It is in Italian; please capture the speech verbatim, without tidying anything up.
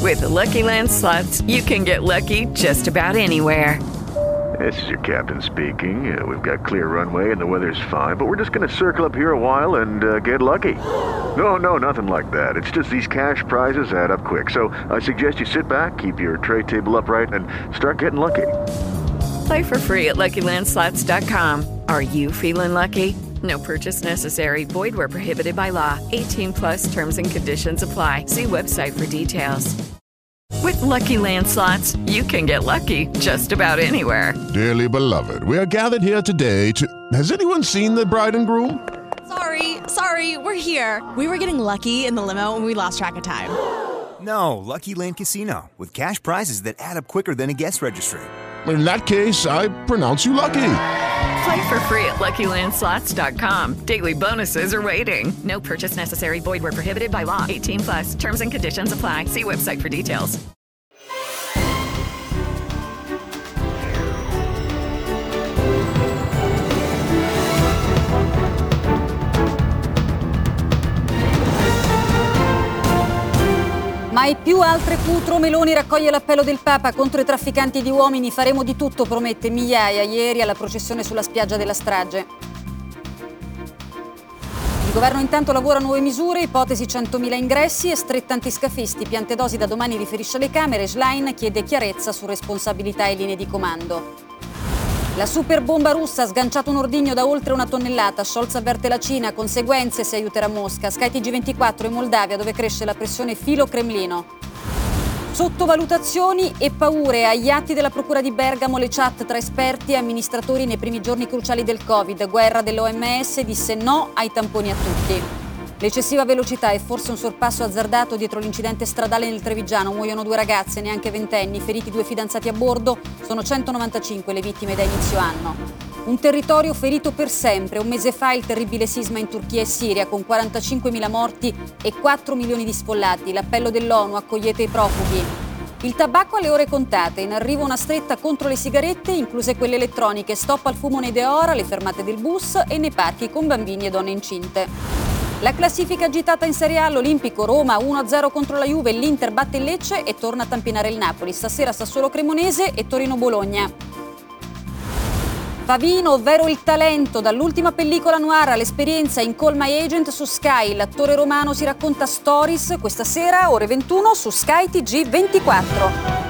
With the Lucky Land Slots, you can get lucky just about anywhere. This is your captain speaking. Uh, we've got clear runway and the weather's fine, but we're just going to circle up here a while and uh, get lucky. No, no, nothing like that. It's just these cash prizes add up quick. So I suggest you sit back, keep your tray table upright, and start getting lucky. Play for free at Lucky Land Slots dot com. Are you feeling lucky? No purchase necessary. Void where prohibited by law. eighteen plus terms and conditions apply. See website for details. With Lucky Land Slots, you can get lucky just about anywhere. Dearly beloved, we are gathered here today to... Has anyone seen the bride and groom? Sorry, sorry, we're here. We were getting lucky in the limo and we lost track of time. No, Lucky Land Casino, with cash prizes that add up quicker than a guest registry. In that case, I pronounce you lucky. Play for free at Lucky Land Slots dot com. Daily bonuses are waiting. No purchase necessary. Void where prohibited by law. eighteen plus. Terms and conditions apply. See website for details. Mai più altre putro. Meloni raccoglie l'appello del Papa contro i trafficanti di uomini. Faremo di tutto, promette. Migliaia ieri alla processione sulla spiaggia della strage. Il governo intanto lavora a nuove misure, ipotesi centomila ingressi e stretta antiscafisti. Piantedosi da domani riferisce alle Camere. Schlein chiede chiarezza su responsabilità e linee di comando. La super bomba russa ha sganciato un ordigno da oltre una tonnellata. Scholz avverte la Cina, conseguenze se aiuterà Mosca. Sky T G ventiquattro in Moldavia, dove cresce la pressione filo-Cremlino. Sottovalutazioni e paure. Agli atti della Procura di Bergamo le chat tra esperti e amministratori nei primi giorni cruciali del Covid. Guerra dell'O M S disse no ai tamponi a tutti. L'eccessiva velocità è forse un sorpasso azzardato dietro l'incidente stradale nel Trevigiano. Muoiono due ragazze, neanche ventenni, feriti due fidanzati a bordo. Sono centonovantacinque le vittime da inizio anno. Un territorio ferito per sempre. Un mese fa il terribile sisma in Turchia e Siria con quarantacinquemila morti e quattro milioni di sfollati. L'appello dell'ONU: accogliete i profughi. Il tabacco alle ore contate. In arrivo una stretta contro le sigarette, incluse quelle elettroniche. Stop al fumo nei Deora, alle fermate del bus e nei parchi con bambini e donne incinte. La classifica agitata in Serie A, l'Olimpico Roma uno a zero contro la Juve, l'Inter batte il Lecce e torna a tampinare il Napoli. Stasera Sassuolo Cremonese e Torino Bologna. Pavino, ovvero il talento, dall'ultima pellicola noir all'esperienza in Call My Agent su Sky. L'attore romano si racconta stories questa sera ore ventuno su Sky T G ventiquattro.